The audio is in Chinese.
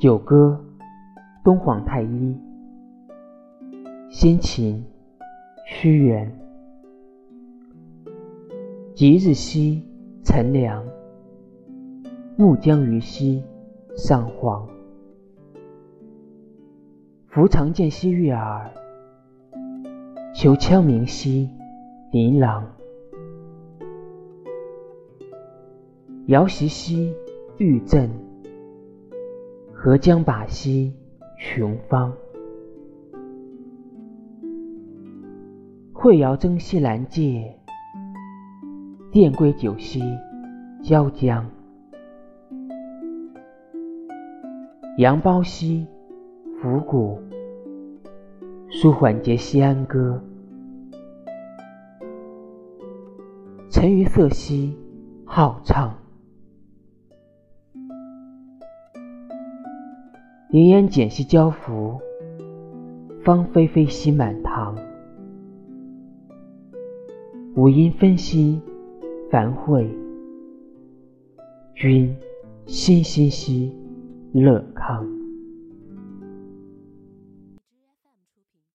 九歌，东皇太一。先秦，屈原。即日兮乘凉，暮将于兮上皇。夫常见兮悦耳，求羌鸣兮琳琅。遥息兮欲振，何将把兮穷芳。惠瑶征兮兰介，电归酒兮椒江。扬苞兮伏鼓，舒缓节兮安歌。沉鱼色兮好唱，凌烟简兮交付，芳菲菲兮满堂。五音分兮繁会，君欣欣兮乐康。